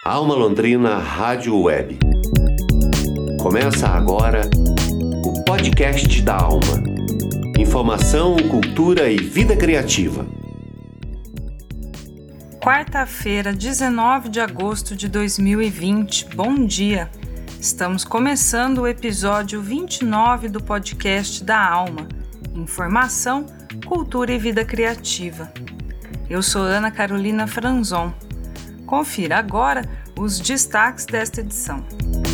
Alma Londrina Rádio Web. Começa agora o podcast da Alma. Informação, cultura e vida criativa. Quarta-feira, 19 de agosto de 2020. Bom dia! Estamos começando o episódio 29 do podcast da Alma. Informação, cultura e vida criativa. Eu sou Ana Carolina Franzon. Confira agora os destaques desta edição.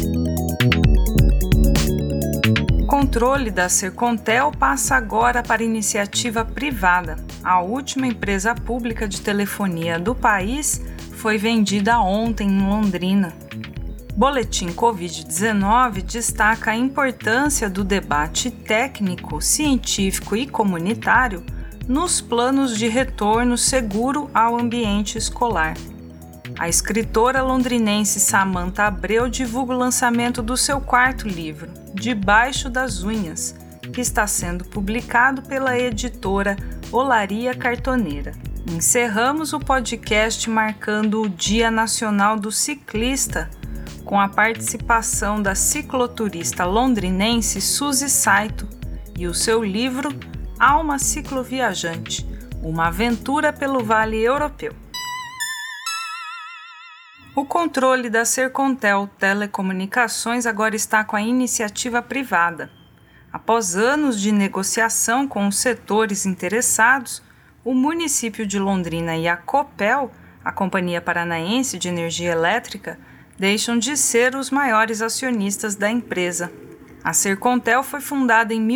O controle da Sercontel passa agora para iniciativa privada. A última empresa pública de telefonia do país foi vendida ontem em Londrina. Boletim Covid-19 destaca a importância do debate técnico, científico e comunitário nos planos de retorno seguro ao ambiente escolar. A escritora londrinense Samantha Abreu divulga o lançamento do seu quarto livro, Debaixo das Unhas, que está sendo publicado pela editora Olaria Cartoneira. Encerramos o podcast marcando o Dia Nacional do Ciclista, com a participação da cicloturista londrinense Suzy Saito e o seu livro Alma Cicloviajante, uma aventura pelo Vale Europeu. O controle da Sercontel Telecomunicações agora está com a iniciativa privada. Após anos de negociação com os setores interessados, o município de Londrina e a Copel, a Companhia Paranaense de Energia Elétrica, deixam de ser os maiores acionistas da empresa. A Sercontel foi fundada em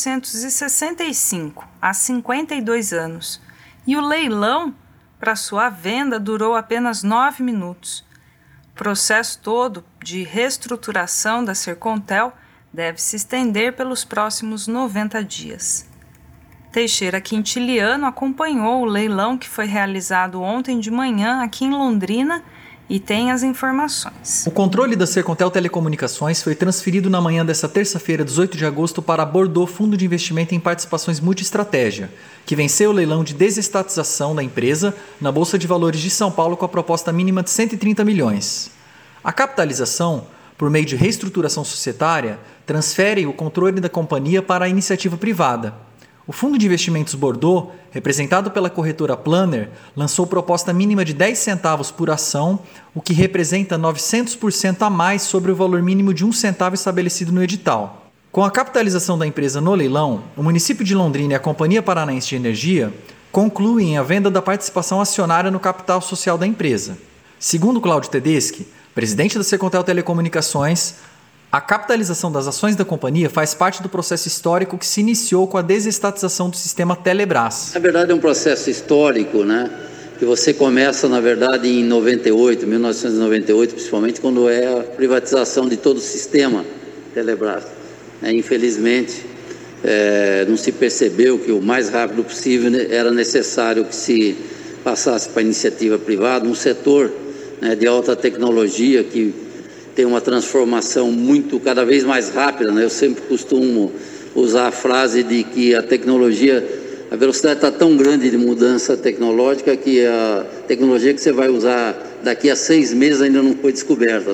1965, há 52 anos, e o leilão para sua venda durou apenas 9 minutos. O processo todo de reestruturação da Sercontel deve se estender pelos próximos 90 dias. Teixeira Quintiliano acompanhou o leilão que foi realizado ontem de manhã aqui em Londrina e tem as informações. O controle da Sercontel Telecomunicações foi transferido na manhã desta terça-feira, 18 de agosto, para a Bordeaux Fundo de Investimento em Participações Multiestratégia, que venceu o leilão de desestatização da empresa na Bolsa de Valores de São Paulo com a proposta mínima de 130 milhões. A capitalização, por meio de reestruturação societária, transfere o controle da companhia para a iniciativa privada. O Fundo de Investimentos Bordeaux, representado pela corretora Planner, lançou proposta mínima de 10 centavos por ação, o que representa 900% a mais sobre o valor mínimo de 1 centavo estabelecido no edital. Com a capitalização da empresa no leilão, o município de Londrina e a Companhia Paranaense de Energia concluem a venda da participação acionária no capital social da empresa. Segundo Cláudio Tedeschi, presidente da Sercontel Telecomunicações, a capitalização das ações da companhia faz parte do processo histórico que se iniciou com a desestatização do sistema Telebrás. Na verdade é um processo histórico, né? Que você começa, na verdade, em 1998, principalmente, quando é a privatização de todo o sistema Telebrás. Infelizmente, não se percebeu que o mais rápido possível era necessário que se passasse para a iniciativa privada, um setor, né, de alta tecnologia que tem uma transformação cada vez mais rápida, né? Eu sempre costumo usar a frase de que a velocidade está tão grande de mudança tecnológica que a tecnologia que você vai usar daqui a 6 meses ainda não foi descoberta.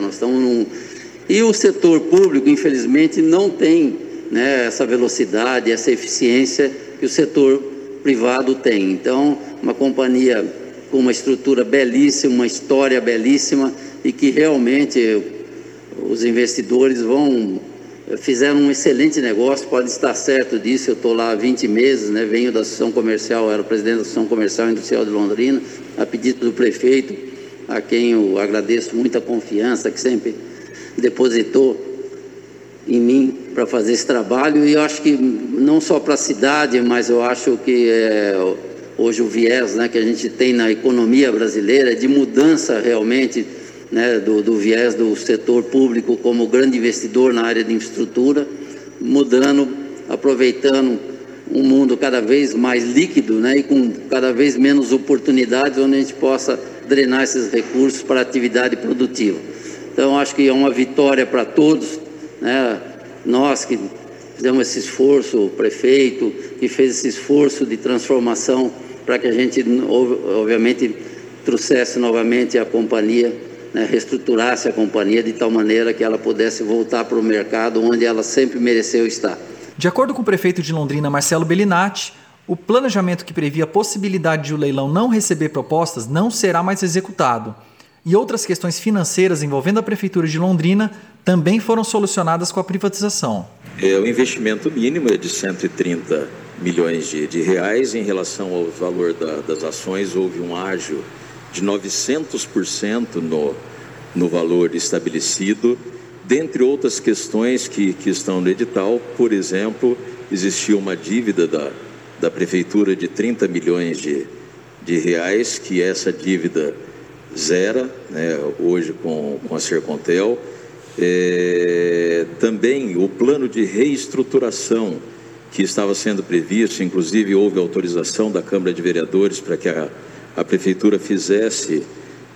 E o setor público, infelizmente, não tem, né, essa velocidade, essa eficiência que o setor privado tem. Então, uma companhia com uma estrutura belíssima, uma história belíssima e que realmente os investidores fizeram um excelente negócio, pode estar certo disso. Eu estou lá há 20 meses, né? Venho da Associação Comercial, era presidente da Associação Comercial e Industrial de Londrina, a pedido do prefeito, a quem eu agradeço muita confiança, que sempre depositou em mim para fazer esse trabalho. E eu acho que não só para a cidade, mas eu acho que hoje o viés, né, que a gente tem na economia brasileira de mudança realmente, né, do viés do setor público como grande investidor na área de infraestrutura, mudando, aproveitando um mundo cada vez mais líquido, né, e com cada vez menos oportunidades, onde a gente possa drenar esses recursos para a atividade produtiva. Então, acho que é uma vitória para todos, né, nós que fizemos esse esforço, o prefeito que fez esse esforço de transformação para que a gente, obviamente, trouxesse novamente a companhia né, reestruturasse a companhia de tal maneira que ela pudesse voltar para o mercado onde ela sempre mereceu estar. De acordo com o prefeito de Londrina, Marcelo Bellinati, o planejamento que previa a possibilidade de o leilão não receber propostas não será mais executado. E outras questões financeiras envolvendo a Prefeitura de Londrina também foram solucionadas com a privatização. O investimento mínimo é de 130 milhões de reais. Em relação ao valor das ações, houve um ágio de 900% no valor estabelecido. Dentre outras questões que estão no edital, por exemplo, existia uma dívida da Prefeitura de 30 milhões de reais, que essa dívida zera, né, hoje com a Sercontel. Também o plano de reestruturação que estava sendo previsto, inclusive houve autorização da Câmara de Vereadores para que a Prefeitura fizesse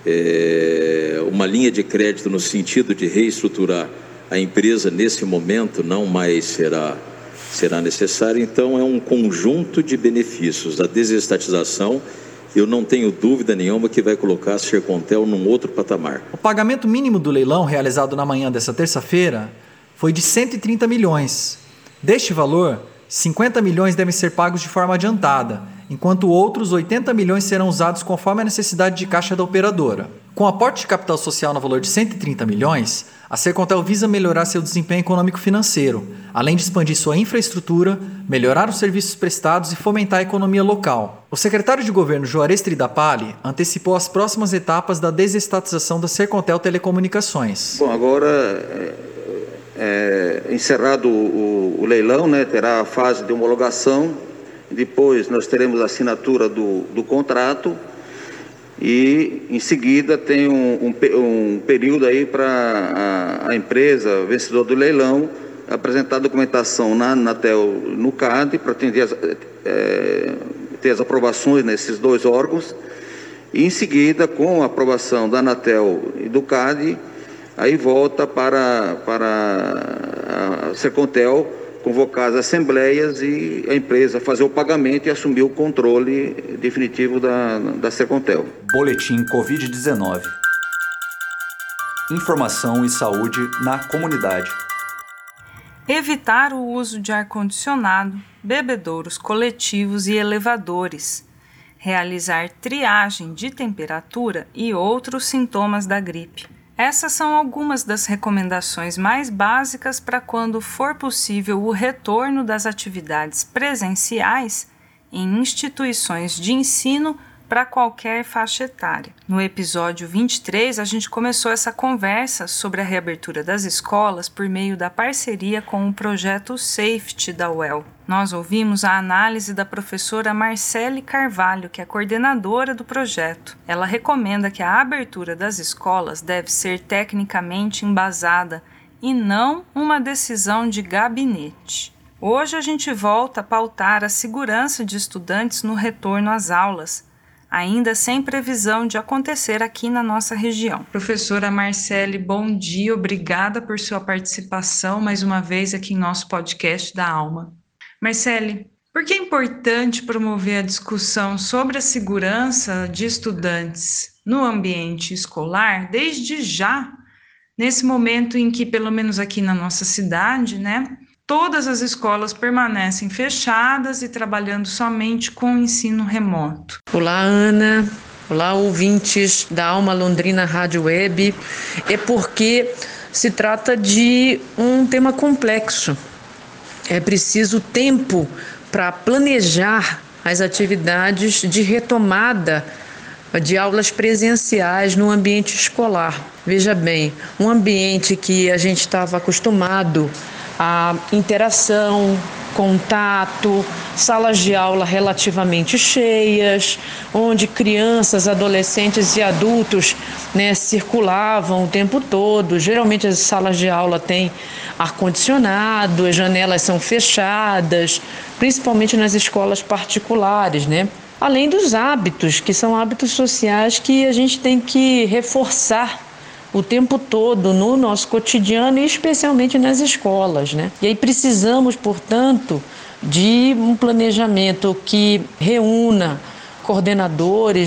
uma linha de crédito no sentido de reestruturar a empresa. Nesse momento não mais será necessário. Então é um conjunto de benefícios da desestatização. Eu não tenho dúvida nenhuma que vai colocar a Sercontel num outro patamar. O pagamento mínimo do leilão, realizado na manhã dessa terça-feira, foi de 130 milhões. Deste valor, 50 milhões devem ser pagos de forma adiantada, enquanto outros 80 milhões serão usados conforme a necessidade de caixa da operadora. Com o aporte de capital social no valor de 130 milhões, a Sercontel visa melhorar seu desempenho econômico-financeiro, além de expandir sua infraestrutura, melhorar os serviços prestados e fomentar a economia local. O secretário de governo Juarez Tridapalli antecipou as próximas etapas da desestatização da Sercontel Telecomunicações. Bom, agora, encerrado o leilão, né, terá a fase de homologação, depois nós teremos a assinatura do contrato e, em seguida, tem um período aí para a empresa vencedora do leilão apresentar a documentação na Anatel, no CAD, para ter as aprovações nesses dois órgãos, e, em seguida, com a aprovação da Anatel e do CAD, aí volta para a Sercontel convocar as assembleias e a empresa fazer o pagamento e assumir o controle definitivo da Sercontel. Boletim Covid-19. Informação e saúde na comunidade. Evitar o uso de ar-condicionado, bebedouros coletivos e elevadores. Realizar triagem de temperatura e outros sintomas da gripe. Essas são algumas das recomendações mais básicas para quando for possível o retorno das atividades presenciais em instituições de ensino para qualquer faixa etária. No episódio 23, a gente começou essa conversa sobre a reabertura das escolas por meio da parceria com o projeto Safety da UEL. Nós ouvimos a análise da professora Marcele Carvalho, que é coordenadora do projeto. Ela recomenda que a abertura das escolas deve ser tecnicamente embasada e não uma decisão de gabinete. Hoje a gente volta a pautar a segurança de estudantes no retorno às aulas, ainda sem previsão de acontecer aqui na nossa região. Professora Marcele, bom dia, obrigada por sua participação mais uma vez aqui em nosso podcast da Alma. Marcele, por que é importante promover a discussão sobre a segurança de estudantes no ambiente escolar desde já, nesse momento em que, pelo menos aqui na nossa cidade, todas as escolas permanecem fechadas e trabalhando somente com o ensino remoto? Olá, Ana. Olá, ouvintes da Alma Londrina Rádio Web. É porque se trata de um tema complexo. É preciso tempo para planejar as atividades de retomada de aulas presenciais no ambiente escolar. Veja bem, um ambiente que a gente estava acostumado a interação, contato, salas de aula relativamente cheias, onde crianças, adolescentes e adultos circulavam o tempo todo. Geralmente as salas de aula têm ar-condicionado, as janelas são fechadas, principalmente nas escolas particulares, Além dos hábitos, que são hábitos sociais que a gente tem que reforçar o tempo todo no nosso cotidiano e especialmente nas escolas, E aí precisamos, portanto, de um planejamento que reúna coordenadores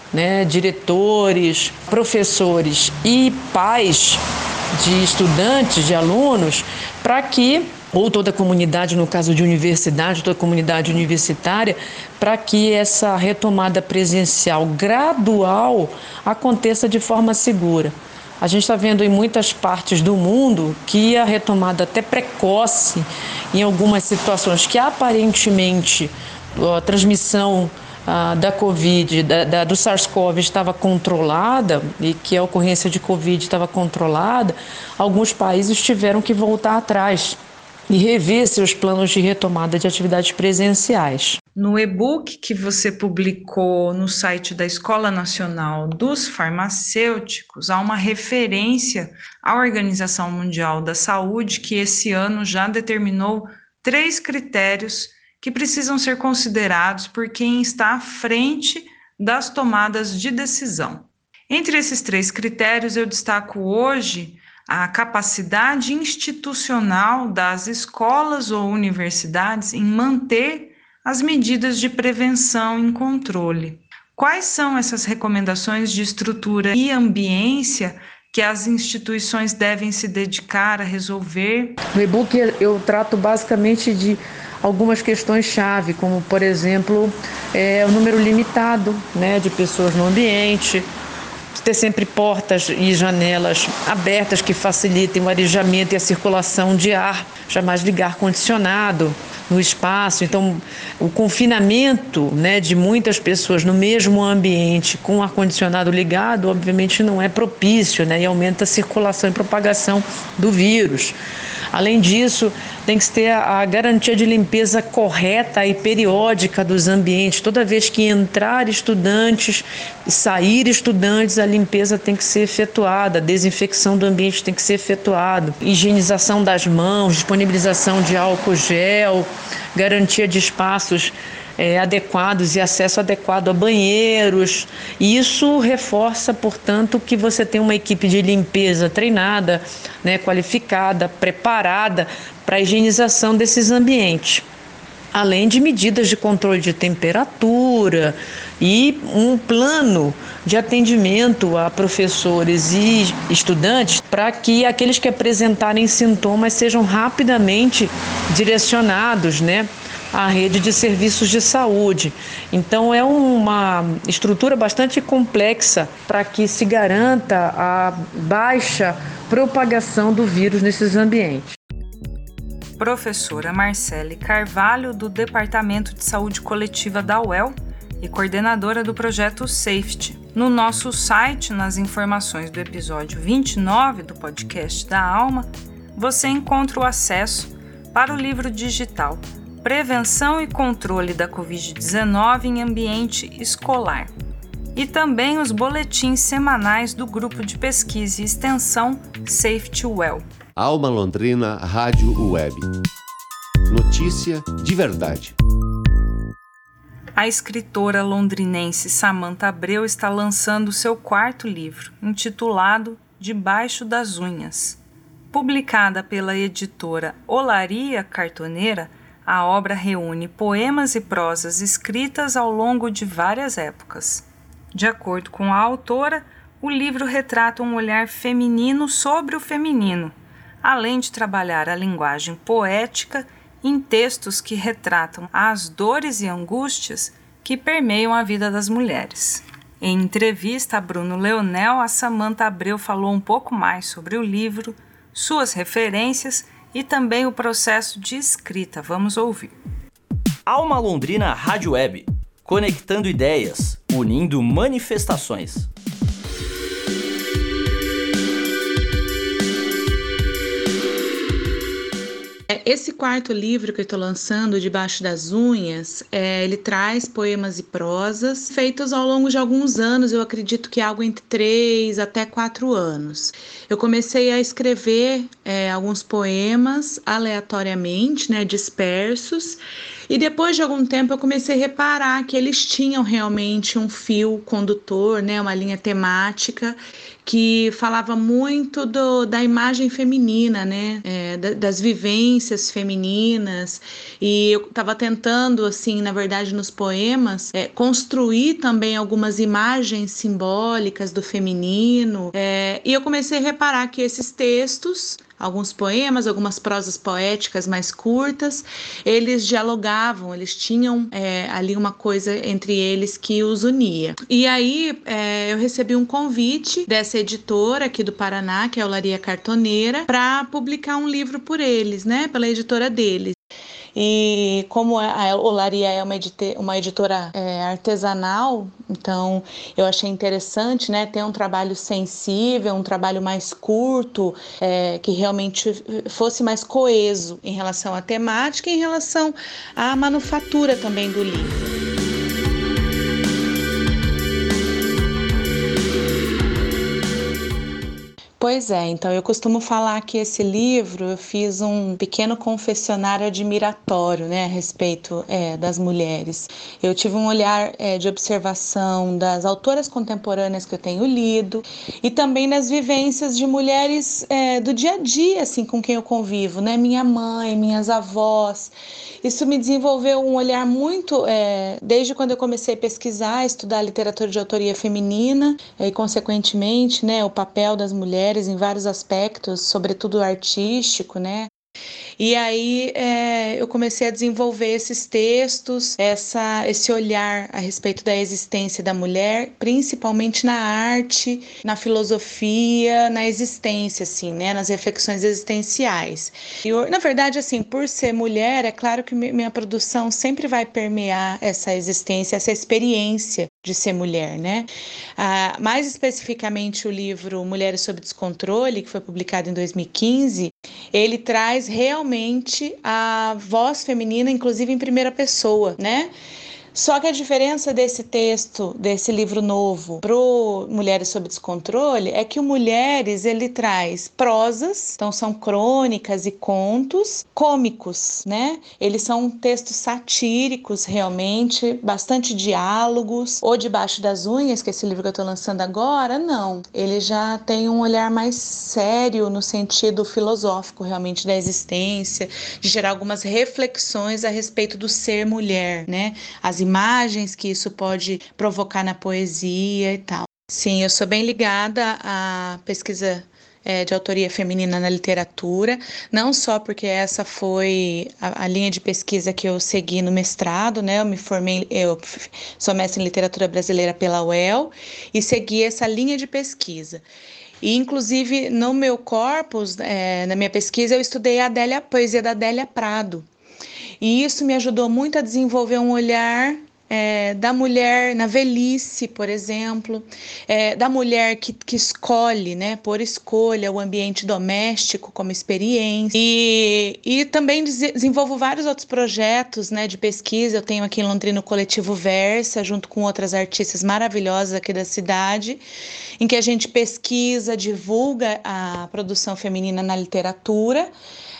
né, diretores, professores e pais de estudantes, de alunos, para que, ou toda a comunidade, no caso de universidade, toda a comunidade universitária, para que essa retomada presencial gradual aconteça de forma segura. A gente está vendo em muitas partes do mundo que a retomada até precoce, em algumas situações que aparentemente a transmissão da Covid, do SARS-CoV estava controlada e que a ocorrência de Covid estava controlada, alguns países tiveram que voltar atrás e rever seus planos de retomada de atividades presenciais. No e-book que você publicou no site da Escola Nacional dos Farmacêuticos, há uma referência à Organização Mundial da Saúde, que esse ano já determinou 3 critérios que precisam ser considerados por quem está à frente das tomadas de decisão. Entre esses 3 critérios, eu destaco hoje a capacidade institucional das escolas ou universidades em manter as medidas de prevenção e controle. Quais são essas recomendações de estrutura e ambiência que as instituições devem se dedicar a resolver? No e-book eu trato basicamente de algumas questões-chave, como, por exemplo, o número limitado, né, de pessoas no ambiente, ter sempre portas e janelas abertas que facilitem o arejamento e a circulação de ar, jamais ligar ar-condicionado no espaço. Então, o confinamento, né, de muitas pessoas no mesmo ambiente com o ar-condicionado ligado, obviamente não é propício, né, e aumenta a circulação e propagação do vírus. Além disso, tem que ter a garantia de limpeza correta e periódica dos ambientes. Toda vez que entrar estudantes e sair estudantes, a limpeza tem que ser efetuada, a desinfecção do ambiente tem que ser efetuada, higienização das mãos, disponibilização de álcool gel, garantia de espaços adequados e acesso adequado a banheiros. E isso reforça, portanto, que você tem uma equipe de limpeza treinada, né, qualificada, preparada para a higienização desses ambientes. Além de medidas de controle de temperatura e um plano de atendimento a professores e estudantes para que aqueles que apresentarem sintomas sejam rapidamente direcionados, né, a rede de serviços de saúde. Então é uma estrutura bastante complexa para que se garanta a baixa propagação do vírus nesses ambientes. Professora Marcele Carvalho, do Departamento de Saúde Coletiva da UEL e coordenadora do projeto Safety. No nosso site, nas informações do episódio 29 do podcast da Alma, você encontra o acesso para o livro digital Prevenção e Controle da Covid-19 em Ambiente Escolar e também os boletins semanais do Grupo de Pesquisa e Extensão Safety UEL. Alma Londrina Rádio Web. Notícia de verdade. A escritora londrinense Samantha Abreu está lançando seu 4º livro, intitulado Debaixo das Unhas. Publicada pela editora Olaria Cartoneira, a obra reúne poemas e prosas escritas ao longo de várias épocas. De acordo com a autora, o livro retrata um olhar feminino sobre o feminino, além de trabalhar a linguagem poética em textos que retratam as dores e angústias que permeiam a vida das mulheres. Em entrevista a Bruno Leonel, a Samantha Abreu falou um pouco mais sobre o livro, suas referências e também o processo de escrita. Vamos ouvir. Alma Londrina Rádio Web, conectando ideias, unindo manifestações. Esse 4º livro que eu estou lançando, Debaixo das Unhas, ele traz poemas e prosas feitos ao longo de alguns anos, eu acredito que algo entre 3 até 4 anos. Eu comecei a escrever alguns poemas aleatoriamente, né, dispersos, E depois de algum tempo eu comecei a reparar que eles tinham realmente um fio condutor, né, uma linha temática que falava muito da imagem feminina, né, das vivências femininas. E eu estava tentando, assim, na verdade, nos poemas, construir também algumas imagens simbólicas do feminino. E eu comecei a reparar que esses textos, alguns poemas, algumas prosas poéticas mais curtas, eles dialogavam, eles tinham ali uma coisa entre eles que os unia. E aí eu recebi um convite dessa editora aqui do Paraná, que é a Olaria Cartoneira, para publicar um livro por eles, né, pela editora deles. E como a Olaria é uma editora artesanal, então eu achei interessante, né, ter um trabalho sensível, um trabalho mais curto, que realmente fosse mais coeso em relação à temática e em relação à manufatura também do livro. Pois é, então eu costumo falar que esse livro eu fiz um pequeno confessionário admiratório, né, a respeito das mulheres. Eu tive um olhar de observação das autoras contemporâneas que eu tenho lido e também das vivências de mulheres do dia a dia, assim, com quem eu convivo, né, minha mãe, minhas avós. Isso me desenvolveu um olhar muito, desde quando eu comecei a pesquisar, estudar literatura de autoria feminina e, consequentemente, né, o papel das mulheres em vários aspectos, sobretudo artístico, né? E aí eu comecei a desenvolver esses textos, esse olhar a respeito da existência da mulher, principalmente na arte, na filosofia, na existência, assim, né, nas reflexões existenciais. E, na verdade, assim, por ser mulher, é claro que minha produção sempre vai permear essa existência, essa experiência de ser mulher, né? Mais especificamente o livro Mulheres sob Descontrole, que foi publicado em 2015, ele traz realmente a voz feminina, inclusive em primeira pessoa, né? Só que a diferença desse texto, desse livro novo, pro Mulheres sob Descontrole, é que o Mulheres, ele traz prosas, então são crônicas e contos cômicos, né? Eles são textos satíricos, realmente, bastante diálogos. O Debaixo das Unhas, que é esse livro que eu tô lançando agora, não. Ele já tem um olhar mais sério no sentido filosófico, realmente, da existência, de gerar algumas reflexões a respeito do ser mulher, né? As imagens que isso pode provocar na poesia e tal. Sim, eu sou bem ligada à pesquisa de autoria feminina na literatura, não só porque essa foi a linha de pesquisa que eu segui no mestrado, né? Eu sou mestre em literatura brasileira pela UEL e segui essa linha de pesquisa. E, inclusive, no meu corpus, na minha pesquisa, eu estudei a poesia da Adélia Prado. E isso me ajudou muito a desenvolver um olhar da mulher na velhice, por exemplo, da mulher que escolhe, né, por escolha, o ambiente doméstico como experiência. E também desenvolvo vários outros projetos, né, de pesquisa. Eu tenho aqui em Londrina o Coletivo Versa, junto com outras artistas maravilhosas aqui da cidade, em que a gente pesquisa, divulga a produção feminina na literatura,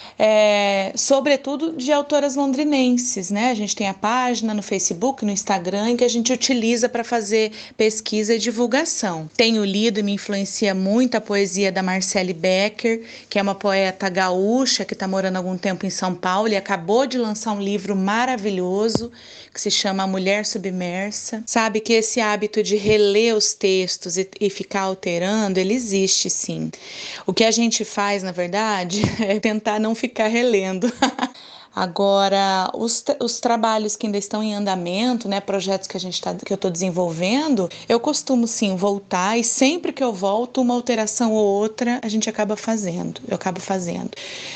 sobretudo de autoras londrinenses, né? A gente tem a página no Facebook, no Instagram, que a gente utiliza para fazer pesquisa e divulgação. Tenho lido e me influencia muito a poesia da Marcele Becker, que é uma poeta gaúcha que está morando há algum tempo em São Paulo e acabou de lançar um livro maravilhoso que se chama A Mulher Submersa. Sabe que esse hábito de reler os textos e ficar alterando, ele existe sim. O que a gente faz, na verdade, é tentar não ficar relendo. Agora, os trabalhos que ainda estão em andamento, né, projetos que eu estou desenvolvendo, eu costumo sim voltar, e sempre que eu volto, uma alteração ou outra, a gente acaba fazendo, eu acabo fazendo.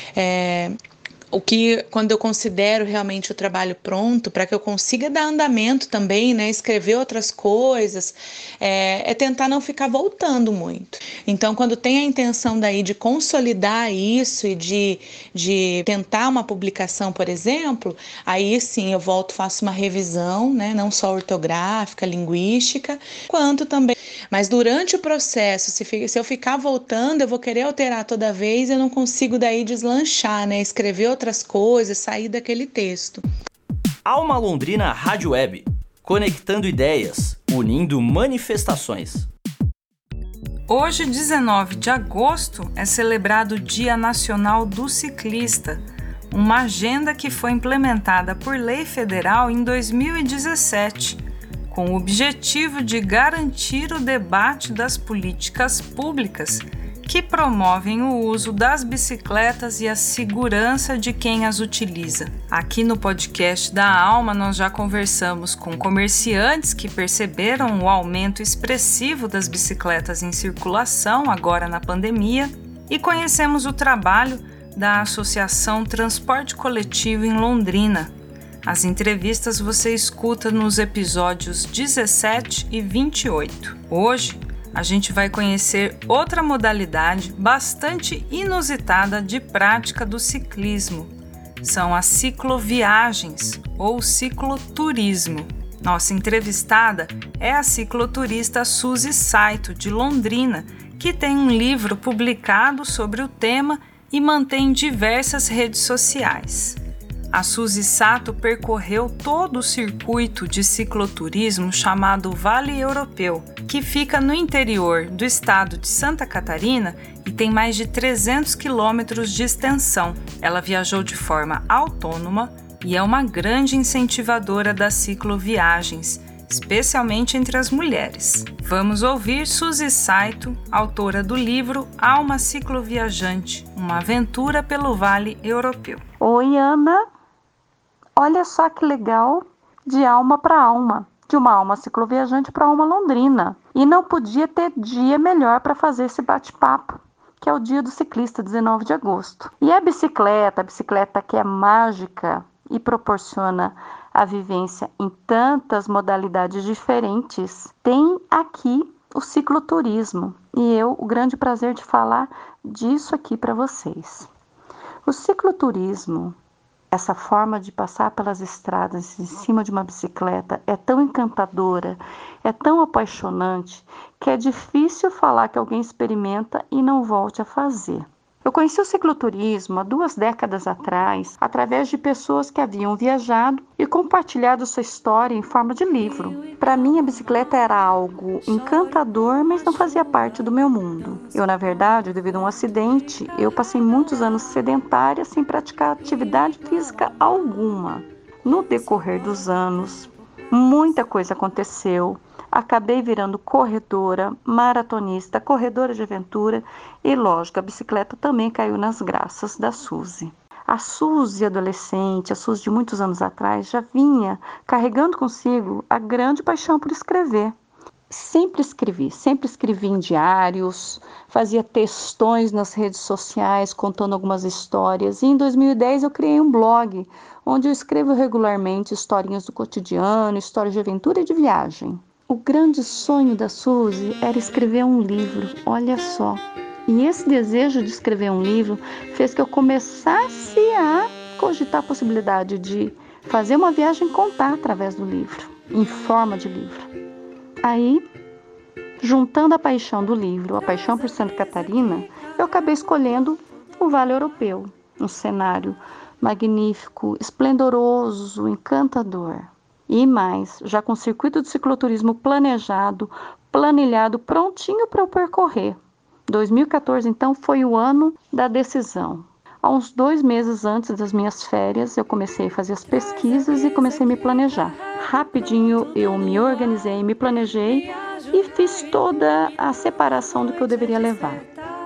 O que, quando eu considero realmente o trabalho pronto, para que eu consiga dar andamento também, né, escrever outras coisas, é tentar não ficar voltando muito. Então, quando tem a intenção daí de consolidar isso e de tentar uma publicação, por exemplo, aí sim eu volto, faço uma revisão, né, não só ortográfica, linguística, quanto também. Mas durante o processo, se eu ficar voltando, eu vou querer alterar toda vez, eu não consigo daí deslanchar, né, escrever outras coisas, sair daquele texto. Alma Londrina Rádio Web, conectando ideias, unindo manifestações. Hoje, 19 de agosto, é celebrado o Dia Nacional do Ciclista, uma agenda que foi implementada por lei federal em 2017, com o objetivo de garantir o debate das políticas públicas que promovem o uso das bicicletas e a segurança de quem as utiliza. Aqui no podcast da Alma, nós já conversamos com comerciantes que perceberam o aumento expressivo das bicicletas em circulação agora na pandemia e conhecemos o trabalho da Associação Transporte Coletivo em Londrina. As entrevistas você escuta nos episódios 17 e 28. Hoje, a gente vai conhecer outra modalidade bastante inusitada de prática do ciclismo. São as cicloviagens ou cicloturismo. Nossa entrevistada é a cicloturista Suzy Saito, de Londrina, que tem um livro publicado sobre o tema e mantém diversas redes sociais. A Suzy Saito percorreu todo o circuito de cicloturismo chamado Vale Europeu, que fica no interior do estado de Santa Catarina e tem mais de 300 quilômetros de extensão. Ela viajou de forma autônoma e é uma grande incentivadora das cicloviagens, especialmente entre as mulheres. Vamos ouvir Suzy Saito, autora do livro Alma Cicloviajante, uma aventura pelo Vale Europeu. Oi, Ana! Olha só que legal, de alma para alma, de uma alma cicloviajante para alma londrina. E não podia ter dia melhor para fazer esse bate-papo, que é o Dia do Ciclista, 19 de agosto. E a bicicleta que é mágica e proporciona a vivência em tantas modalidades diferentes, tem aqui o cicloturismo. E eu, o grande prazer de falar disso aqui para vocês. O cicloturismo, essa forma de passar pelas estradas em cima de uma bicicleta é tão encantadora, é tão apaixonante, que é difícil falar que alguém experimenta e não volte a fazer. Eu conheci o cicloturismo há 2 décadas atrás, através de pessoas que haviam viajado e compartilhado sua história em forma de livro. Para mim, a bicicleta era algo encantador, mas não fazia parte do meu mundo. Eu, na verdade, devido a um acidente, eu passei muitos anos sedentária sem praticar atividade física alguma. No decorrer dos anos, muita coisa aconteceu. Acabei virando corredora, maratonista, corredora de aventura e, lógico, a bicicleta também caiu nas graças da Suzy. A Suzy adolescente, a Suzy de muitos anos atrás, já vinha carregando consigo a grande paixão por escrever. Sempre escrevi em diários, fazia textões nas redes sociais contando algumas histórias. E em 2010 eu criei um blog, onde eu escrevo regularmente historinhas do cotidiano, histórias de aventura e de viagem. O grande sonho da Suzy era escrever um livro, olha só. E esse desejo de escrever um livro fez que eu começasse a cogitar a possibilidade de fazer uma viagem e contar através do livro, em forma de livro. Aí, juntando a paixão do livro, a paixão por Santa Catarina, eu acabei escolhendo o Vale Europeu, um cenário magnífico, esplendoroso, encantador. E mais, já com o circuito de cicloturismo planejado, planilhado, prontinho para eu percorrer. 2014, então, foi o ano da decisão. Há uns 2 meses antes das minhas férias, eu comecei a fazer as pesquisas e comecei a me planejar. Rapidinho eu me organizei, me planejei e fiz toda a separação do que eu deveria levar.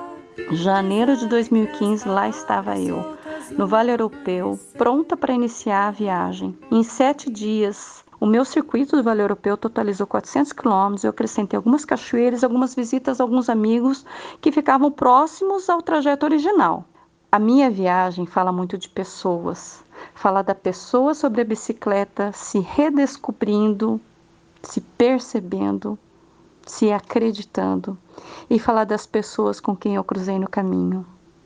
Janeiro de 2015, lá estava eu, no Vale Europeu, pronta para iniciar a viagem. Em 7 dias, o meu circuito do Vale Europeu totalizou 400 quilômetros. Eu acrescentei algumas cachoeiras, algumas visitas a alguns amigos que ficavam próximos ao trajeto original. A minha viagem fala muito de pessoas. Fala da pessoa sobre a bicicleta se redescobrindo, se percebendo, se acreditando. E falar das pessoas com quem eu cruzei no caminho.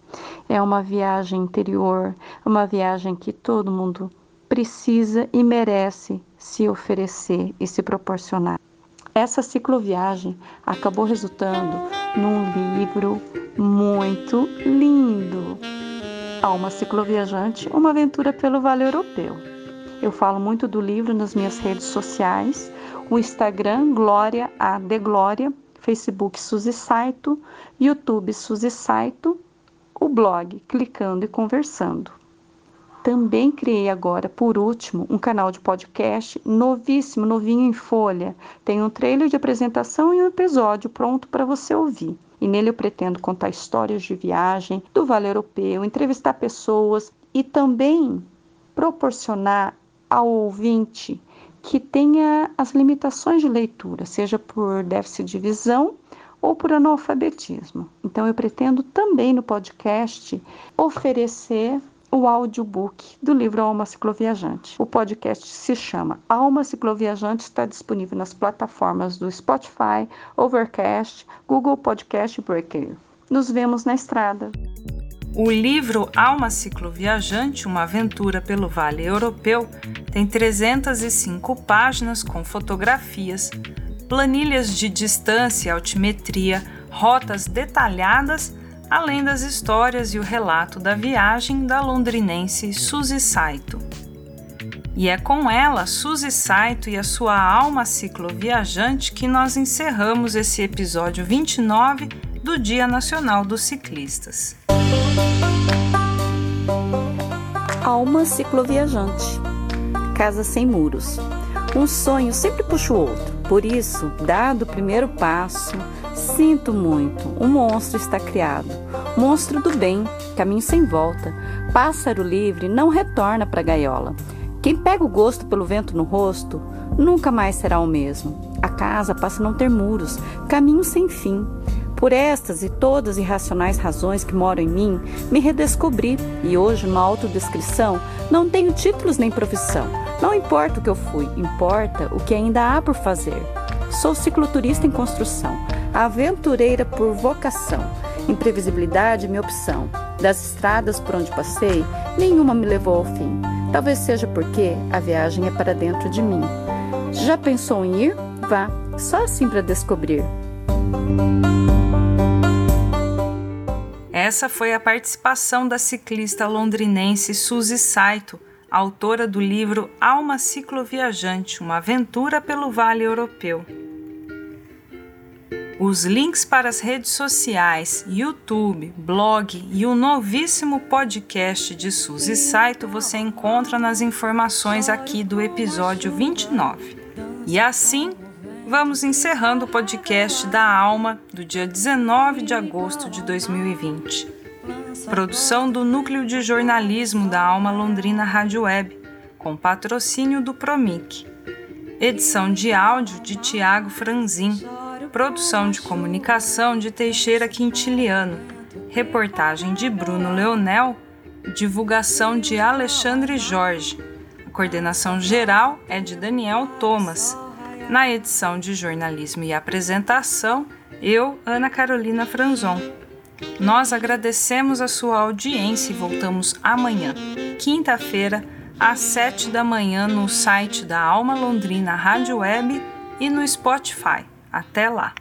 É uma viagem interior, uma viagem que todo mundo precisa e merece se oferecer e se proporcionar. Essa cicloviagem acabou resultando num livro muito lindo. Alma Cicloviajante, uma aventura pelo Vale Europeu. Eu falo muito do livro nas minhas redes sociais, o Instagram Glória a de Glória, Facebook Suzy Saito, YouTube Suzy Saito, o blog Clicando e Conversando. Também criei agora, por último, um canal de podcast novíssimo, novinho em folha. Tem um trailer de apresentação e um episódio pronto para você ouvir. E nele eu pretendo contar histórias de viagem do Vale Europeu, entrevistar pessoas e também proporcionar ao ouvinte que tenha as limitações de leitura, seja por déficit de visão ou por analfabetismo. Então eu pretendo também no podcast oferecer o audiobook do livro Alma Cicloviajante. O podcast se chama Alma Cicloviajante, está disponível nas plataformas do Spotify, Overcast, Google Podcast e Breaker. Nos vemos na estrada. O livro Alma Cicloviajante, uma aventura pelo Vale Europeu, tem 305 páginas com fotografias, planilhas de distância e altimetria, rotas detalhadas, além das histórias e o relato da viagem da londrinense Suzy Saito. E é com ela, Suzy Saito e a sua alma cicloviajante, que nós encerramos esse episódio 29 do Dia Nacional dos Ciclistas. Alma cicloviajante. Casa sem muros. Um sonho sempre puxa o outro. Por isso, dado o primeiro passo, sinto muito, um monstro está criado. Monstro do bem, caminho sem volta. Pássaro livre não retorna para a gaiola. Quem pega o gosto pelo vento no rosto, nunca mais será o mesmo. A casa passa a não ter muros, caminho sem fim. Por estas e todas irracionais razões que moram em mim, me redescobri e hoje, numa autodescrição, não tenho títulos nem profissão. Não importa o que eu fui, importa o que ainda há por fazer. Sou cicloturista em construção, aventureira por vocação. Imprevisibilidade é minha opção. Das estradas por onde passei, nenhuma me levou ao fim. Talvez seja porque a viagem é para dentro de mim. Já pensou em ir? Vá, só assim para descobrir. Essa foi a participação da ciclista londrinense Suzy Saito, autora do livro Alma Cicloviajante, uma aventura pelo Vale Europeu. Os links para as redes sociais, YouTube, blog e o novíssimo podcast de Suzy Saito você encontra nas informações aqui do episódio 29. E assim, vamos encerrando o podcast da Alma do dia 19 de agosto de 2020. Produção do Núcleo de Jornalismo da Alma Londrina Rádio Web, com patrocínio do Promic. Edição de áudio de Tiago Franzin. Produção de comunicação de Teixeira Quintiliano. Reportagem de Bruno Leonel. Divulgação de Alexandre Jorge. A coordenação geral é de Daniel Thomas. Na edição de jornalismo e apresentação, eu, Ana Carolina Franzon. Nós agradecemos a sua audiência e voltamos amanhã, quinta-feira, às 7 da manhã, no site da Alma Londrina Rádio Web e no Spotify. Até lá!